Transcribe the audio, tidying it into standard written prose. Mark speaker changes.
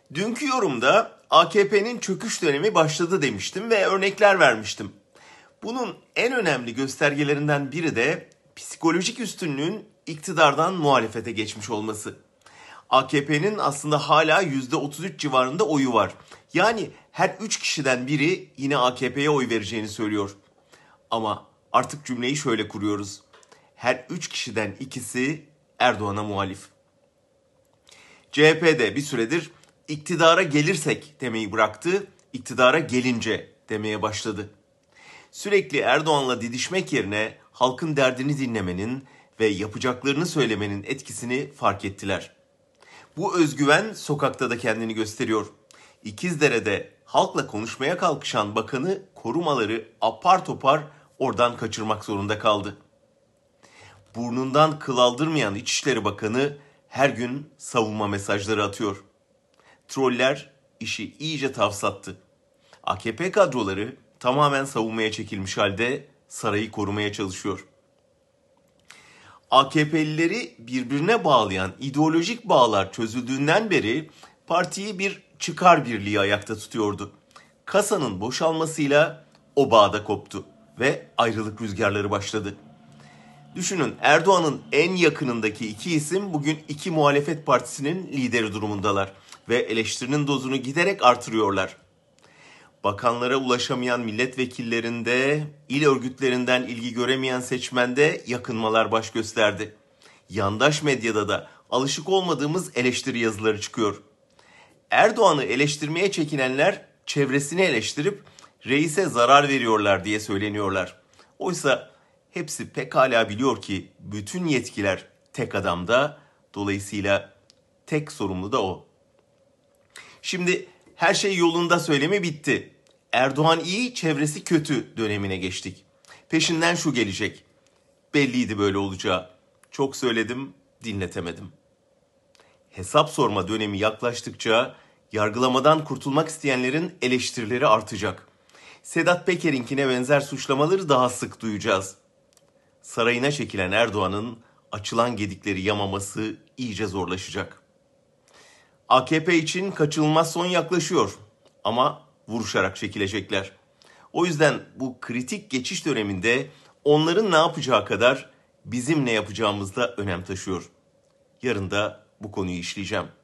Speaker 1: Dünkü yorumda AKP'nin çöküş dönemi başladı demiştim ve örnekler vermiştim. Bunun en önemli göstergelerinden biri de psikolojik üstünlüğün iktidardan muhalefete geçmiş olması. AKP'nin aslında hala %33 civarında oyu var. Yani her 3 kişiden biri yine AKP'ye oy vereceğini söylüyor. Ama artık cümleyi şöyle kuruyoruz. Her 3 kişiden ikisi Erdoğan'a muhalif. CHP'de bir süredir iktidara gelirsek demeyi bıraktı, iktidara gelince demeye başladı. Sürekli Erdoğan'la didişmek yerine halkın derdini dinlemenin ve yapacaklarını söylemenin etkisini fark ettiler. Bu özgüven sokakta da kendini gösteriyor. İkizdere'de halkla konuşmaya kalkışan bakanı korumaları apar topar oradan kaçırmak zorunda kaldı. Burnundan kıl aldırmayan İçişleri Bakanı her gün savunma mesajları atıyor. Troller işi iyice tavsattı. AKP kadroları tamamen savunmaya çekilmiş halde sarayı korumaya çalışıyor. AKP'lileri birbirine bağlayan ideolojik bağlar çözüldüğünden beri partiyi bir çıkar birliği ayakta tutuyordu. Kasanın boşalmasıyla o bağ da koptu ve ayrılık rüzgarları başladı. Düşünün, Erdoğan'ın en yakınındaki iki isim bugün iki muhalefet partisinin lideri durumundalar ve eleştirinin dozunu giderek artırıyorlar. Bakanlara ulaşamayan milletvekillerinde, il örgütlerinden ilgi göremeyen seçmende yakınmalar baş gösterdi. Yandaş medyada da alışık olmadığımız eleştiri yazıları çıkıyor. Erdoğan'ı eleştirmeye çekinenler çevresini eleştirip reise zarar veriyorlar diye söyleniyorlar. Oysa hepsi pekala biliyor ki bütün yetkiler tek adamda, dolayısıyla tek sorumlu da o. Şimdi her şey yolunda söylemi bitti. Erdoğan iyi, çevresi kötü dönemine geçtik. Peşinden şu gelecek. Belliydi böyle olacağı. Çok söyledim, dinletemedim. Hesap sorma dönemi yaklaştıkça yargılamadan kurtulmak isteyenlerin eleştirileri artacak. Sedat Peker'inkine benzer suçlamaları daha sık duyacağız. Sarayına çekilen Erdoğan'ın açılan gedikleri yamaması iyice zorlaşacak. AKP için kaçınılmaz son yaklaşıyor ama vuruşarak çekilecekler. O yüzden bu kritik geçiş döneminde onların ne yapacağı kadar bizim ne yapacağımız da önem taşıyor. Yarın da bu konuyu işleyeceğim.